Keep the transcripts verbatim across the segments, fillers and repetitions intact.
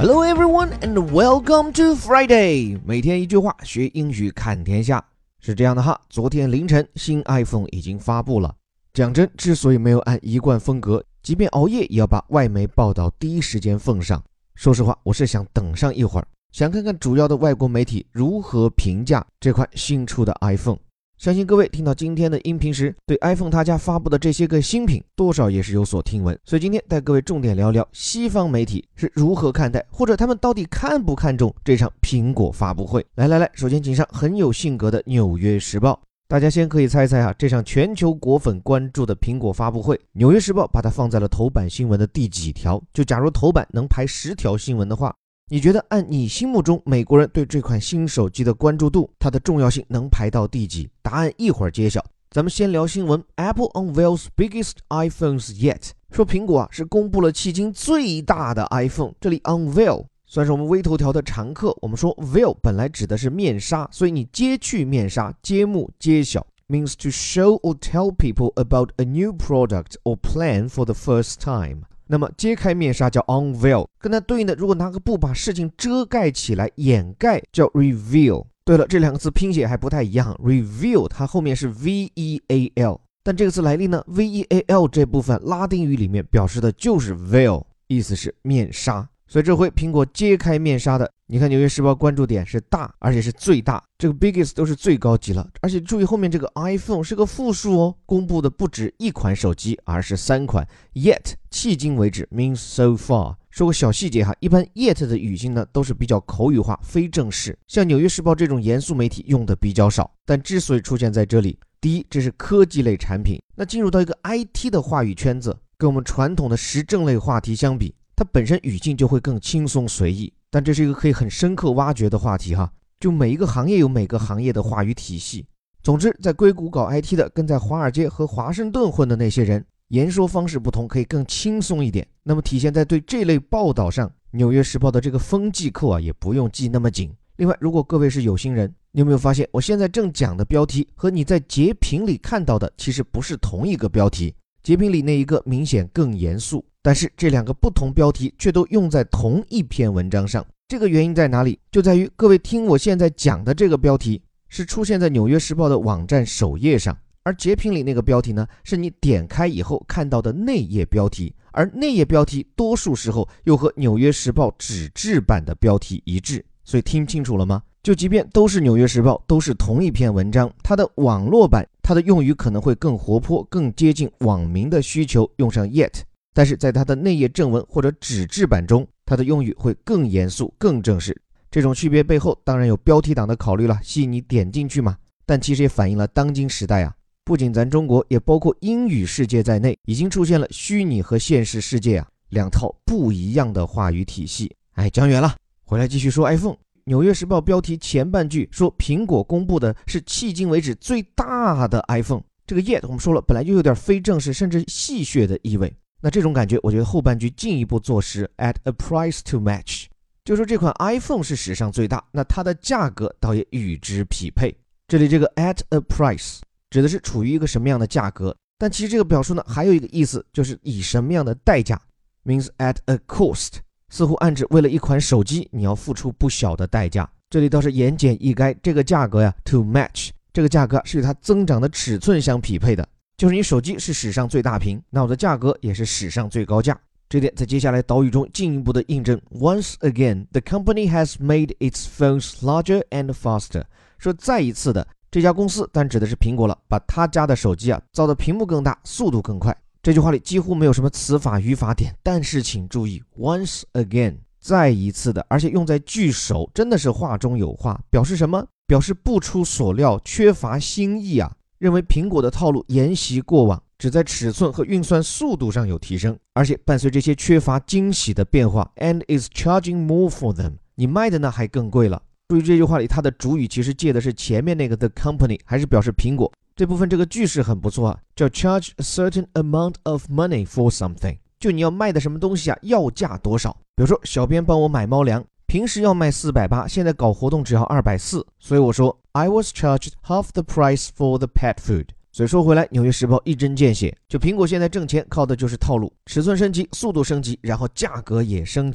Hello everyone and welcome to Friday。 每天一句话，学英语看天下。是这样的哈，昨天凌晨新 iPhone 已经发布了。讲真，之所以没有按一贯风格，即便熬夜也要把外媒报道第一时间奉上。说实话，我是想等上一会儿，想看看主要的外国媒体如何评价这款新出的 iPhone。相信各位听到今天的音频时，对 iPhone 他家发布的这些个新品多少也是有所听闻，所以今天带各位重点聊聊西方媒体是如何看待，或者他们到底看不看重这场苹果发布会。来来来，首先请上很有性格的纽约时报。大家先可以猜猜啊，这场全球果粉关注的苹果发布会，纽约时报把它放在了头版新闻的第几条？就假如头版能排十条新闻的话，你觉得按你心目中美国人对这款新手机的关注度，它的重要性能排到第几？答案一会儿揭晓。咱们先聊新闻。 Apple unveils biggest iPhones yet， 说苹果啊是公布了迄今最大的 iPhone。这里 unveil 算是我们微头条的常客。我们说 veil 本来指的是面纱，所以你揭去面纱，揭幕揭晓 means to show or tell people about a new product or plan for the first time。那么揭开面纱叫 unveil， 跟它对应的，如果拿个布把事情遮盖起来掩盖叫 reveal。 对了，这两个字拼写还不太一样， reveal 它后面是 V E A L， 但这个字来历呢， V E A L 这部分拉丁语里面表示的就是 veil， 意思是面纱。所以这回苹果揭开面纱的，你看纽约时报关注点是大，而且是最大，这个 biggest 都是最高级了。而且注意后面这个 iPhone 是个复数哦，公布的不止一款手机，而是三款。 Yet 迄今为止 means so far。 说个小细节哈，一般 yet 的语境呢都是比较口语化非正式，像纽约时报这种严肃媒体用的比较少。但之所以出现在这里，第一，这是科技类产品，那进入到一个 I T 的话语圈子，跟我们传统的时政类话题相比，它本身语境就会更轻松随意。但这是一个可以很深刻挖掘的话题哈，就每一个行业有每个行业的话语体系。总之，在硅谷搞 I T 的跟在华尔街和华盛顿混的那些人，言说方式不同，可以更轻松一点。那么体现在对这类报道上，纽约时报的这个风纪扣啊也不用系那么紧。另外，如果各位是有心人，你有没有发现我现在正讲的标题和你在截屏里看到的其实不是同一个标题？截屏里那一个明显更严肃，但是这两个不同标题却都用在同一篇文章上。这个原因在哪里？就在于各位听我现在讲的这个标题是出现在纽约时报的网站首页上，而截屏里那个标题呢，是你点开以后看到的内页标题，而内页标题多数时候又和纽约时报纸质版的标题一致。所以听清楚了吗？就即便都是纽约时报，都是同一篇文章，它的网络版它的用语可能会更活泼，更接近网民的需求，用上 yet， 但是在它的内页正文或者纸质版中，它的用语会更严肃更正式。这种区别背后当然有标题党的考虑了，吸引你点进去嘛。但其实也反映了当今时代啊，不仅咱中国，也包括英语世界在内，已经出现了虚拟和现实世界啊两套不一样的话语体系。哎，讲远了，回来继续说 iPhone。纽约时报标题前半句说苹果公布的是迄今为止最大的 iPhone， 这个 yet 我们说了本来就有点非正式甚至戏谑的意味，那这种感觉我觉得后半句进一步坐实 at a price to match， 就说这款 iPhone 是史上最大，那它的价格倒也与之匹配。这里这个 at a price 指的是处于一个什么样的价格，但其实这个表述呢还有一个意思，就是以什么样的代价 means at a cost，似乎暗指为了一款手机你要付出不小的代价。这里倒是言简意赅，这个价格呀 to match， 这个价格是与它增长的尺寸相匹配的，就是你手机是史上最大屏，那我的价格也是史上最高价。这点在接下来导语中进一步的印证。 Once again the company has made its phones larger and faster， 说再一次的，这家公司但指的是苹果了，把他家的手机啊造的屏幕更大，速度更快。这句话里几乎没有什么词法语法点，但是请注意 once again 再一次的，而且用在句首，真的是话中有话，表示什么？表示不出所料，缺乏新意啊，认为苹果的套路沿袭过往，只在尺寸和运算速度上有提升，而且伴随这些缺乏惊喜的变化 and is charging more for them， 你卖的呢还更贵了。注意这句话里它的主语其实借的是前面那个 the company， 还是表示苹果。这部分这个句式很不错啊，叫 charge a certain amount of money for something， 就你要卖的什么东西啊，要价多少。比如说小编帮我买猫粮，平时要卖四百八，现在搞活动只要二百四，所以我说 I was charged half the price for the pet food。 所以说回来，纽约时报一针见血，就苹果现在挣钱靠的就是套路，尺寸升级，速度升级，然后价格也升级。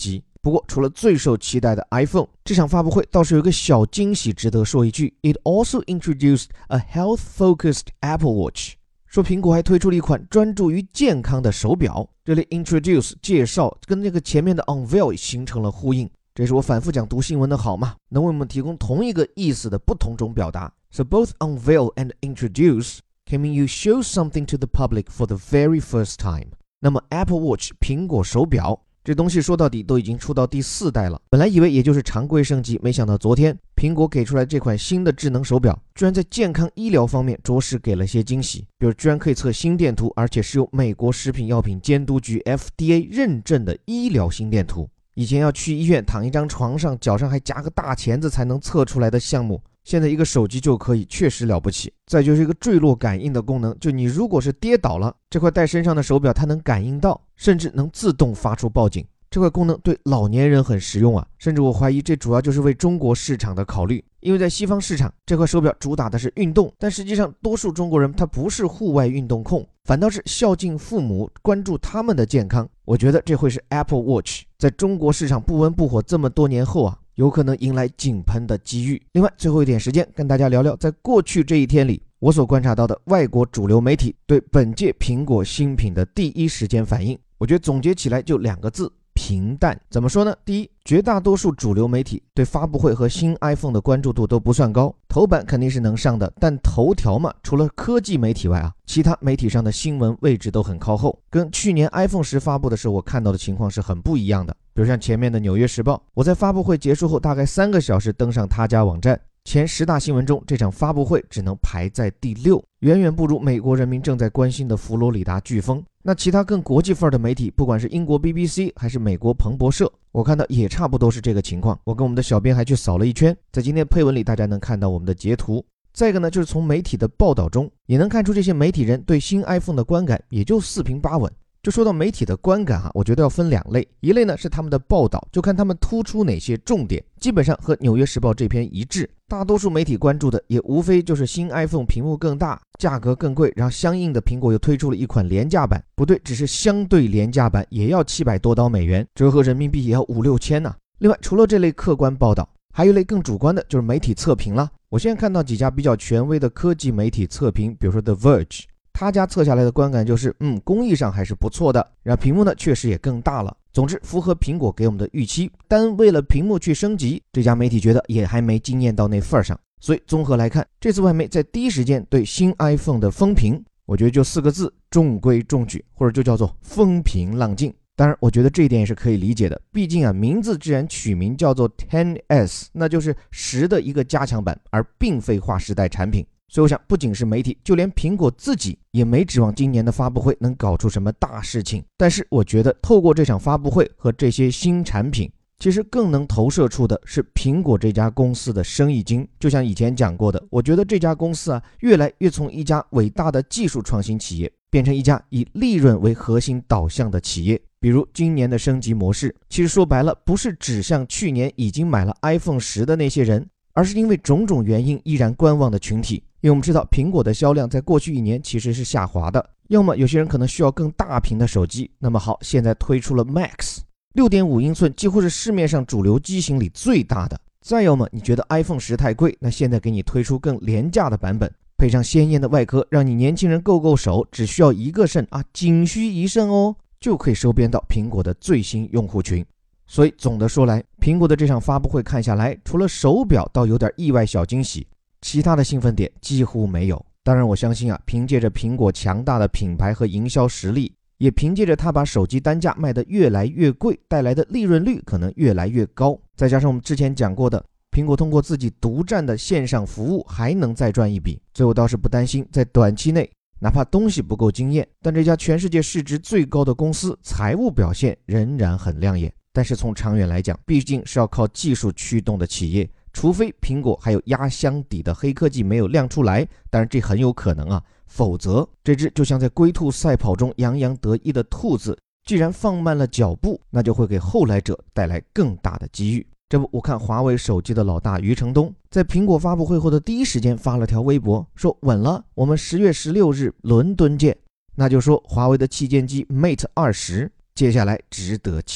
不过除了最受期待的 iPhone， 这场发布会倒是有一个小惊喜值得说一句， It also introduced a health-focused Apple Watch， 说苹果还推出了一款专注于健康的手表。这里 introduce 介绍跟那个前面的 unveil 形成了呼应，这是我反复讲读新闻的好嘛，能为我们提供同一个意思的不同种表达。 So both unveil and introduce can mean you show something to the public for the very first time。 那么 Apple Watch 苹果手表这东西说到底都已经出到第四代了，本来以为也就是常规升级，没想到昨天苹果给出来这款新的智能手表，居然在健康医疗方面着实给了些惊喜，比如居然可以测心电图，而且是由美国食品药品监督局 F D A 认证的医疗心电图。以前要去医院躺一张床上，脚上还夹个大钳子才能测出来的项目，现在一个手机就可以，确实了不起。再就是一个坠落感应的功能，就你如果是跌倒了，这块戴身上的手表它能感应到，甚至能自动发出报警。这块功能对老年人很实用啊，甚至我怀疑这主要就是为中国市场的考虑，因为在西方市场这块手表主打的是运动，但实际上多数中国人他不是户外运动控，反倒是孝敬父母，关注他们的健康。我觉得这会是 Apple Watch 在中国市场不温不火这么多年后啊，有可能迎来井喷的机遇。另外最后一点时间跟大家聊聊在过去这一天里我所观察到的外国主流媒体对本届苹果新品的第一时间反应。我觉得总结起来就两个字，平淡。怎么说呢？第一，绝大多数主流媒体对发布会和新 iPhone 的关注度都不算高，头版肯定是能上的，但头条嘛，除了科技媒体外啊，其他媒体上的新闻位置都很靠后，跟去年 iPhone 十发布的时候我看到的情况是很不一样的。比如像前面的纽约时报，我在发布会结束后大概三个小时登上他家网站，前十大新闻中这场发布会只能排在第六，远远不如美国人民正在关心的佛罗里达飓风。那其他更国际范儿的媒体，不管是英国 B B C 还是美国彭博社，我看到也差不多是这个情况。我跟我们的小编还去扫了一圈，在今天配文里大家能看到我们的截图。再一个呢，就是从媒体的报道中也能看出这些媒体人对新 iPhone 的观感也就四平八稳。就说到媒体的观感哈，我觉得要分两类，一类呢是他们的报道，就看他们突出哪些重点，基本上和纽约时报这篇一致。大多数媒体关注的也无非就是新 iPhone 屏幕更大，价格更贵，然后相应的苹果又推出了一款廉价版，不对，只是相对廉价版也要七百多刀美元，折合人民币也要五六千呢、啊。另外除了这类客观报道，还有一类更主观的就是媒体测评了。我现在看到几家比较权威的科技媒体测评，比如说 The Verge，他家测下来的观感就是，嗯，工艺上还是不错的，然后屏幕呢确实也更大了，总之符合苹果给我们的预期，但为了屏幕去升级，这家媒体觉得也还没惊艳到那份上。所以综合来看，这次外媒在第一时间对新 iPhone 的风评，我觉得就四个字，中规中矩，或者就叫做风平浪静。当然我觉得这一点也是可以理解的，毕竟啊，名字既然取名叫做 X S， 那就是十的一个加强版，而并非划时代产品。所以我想不仅是媒体，就连苹果自己也没指望今年的发布会能搞出什么大事情。但是我觉得透过这场发布会和这些新产品，其实更能投射出的是苹果这家公司的生意经。就像以前讲过的，我觉得这家公司啊，越来越从一家伟大的技术创新企业变成一家以利润为核心导向的企业。比如今年的升级模式，其实说白了不是指向去年已经买了 iPhone 十的那些人，而是因为种种原因依然观望的群体。因为我们知道苹果的销量在过去一年其实是下滑的，要么有些人可能需要更大屏的手机，那么好，现在推出了 Max， 六点五英寸几乎是市面上主流机型里最大的。再要么你觉得 iPhone 十太贵，那现在给你推出更廉价的版本，配上鲜艳的外壳，让你年轻人够够手，只需要一个肾啊，仅需一肾哦，就可以收编到苹果的最新用户群。所以总的说来，苹果的这场发布会看下来，除了手表倒有点意外小惊喜，其他的兴奋点几乎没有。当然我相信啊，凭借着苹果强大的品牌和营销实力，也凭借着它把手机单价卖得越来越贵，带来的利润率可能越来越高，再加上我们之前讲过的，苹果通过自己独占的线上服务还能再赚一笔。所以我倒是不担心在短期内哪怕东西不够惊艳，但这家全世界市值最高的公司财务表现仍然很亮眼。但是从长远来讲，毕竟是要靠技术驱动的企业，除非苹果还有压箱底的黑科技没有亮出来，当然这很有可能啊，否则这只就像在龟兔赛跑中洋洋得意的兔子，既然放慢了脚步，那就会给后来者带来更大的机遇。这不，我看华为手机的老大余承东在苹果发布会后的第一时间发了条微博，说稳了，我们十月十六日伦敦见。那就说华为的旗舰机 Mate 二十接下来值得期待。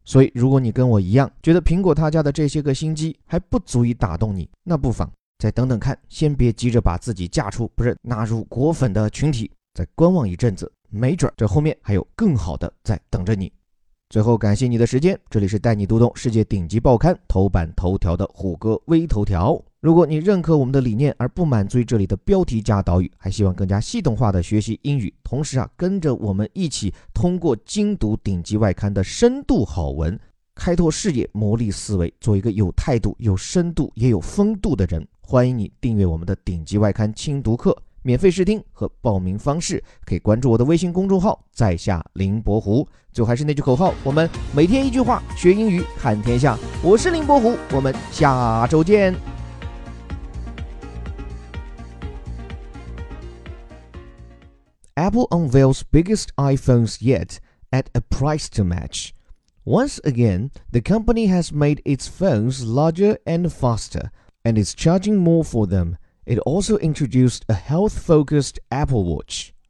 所以如果你跟我一样觉得苹果他家的这些个新机还不足以打动你，那不妨再等等看，先别急着把自己嫁出，不是纳入果粉的群体，再观望一阵子，没准这后面还有更好的在等着你。最后感谢你的时间，这里是带你读懂世界顶级报刊头版头条的虎哥微头条。如果你认可我们的理念而不满足于这里的标题加导语，还希望更加系统化的学习英语，同时啊跟着我们一起通过精读顶级外刊的深度好文，开拓视野，磨砺思维，做一个有态度有深度也有风度的人。欢迎你订阅我们的顶级外刊精读课，免费试听和报名方式可以关注我的微信公众号在下林伯湖。最后还是那句口号，我们每天一句话，学英语看天下。我是林伯湖，我们下周见。Apple unveils biggest iPhones yet at a price to match. Once again, the company has made its phones larger and faster, and is charging more for them. It also introduced a health-focused Apple Watch.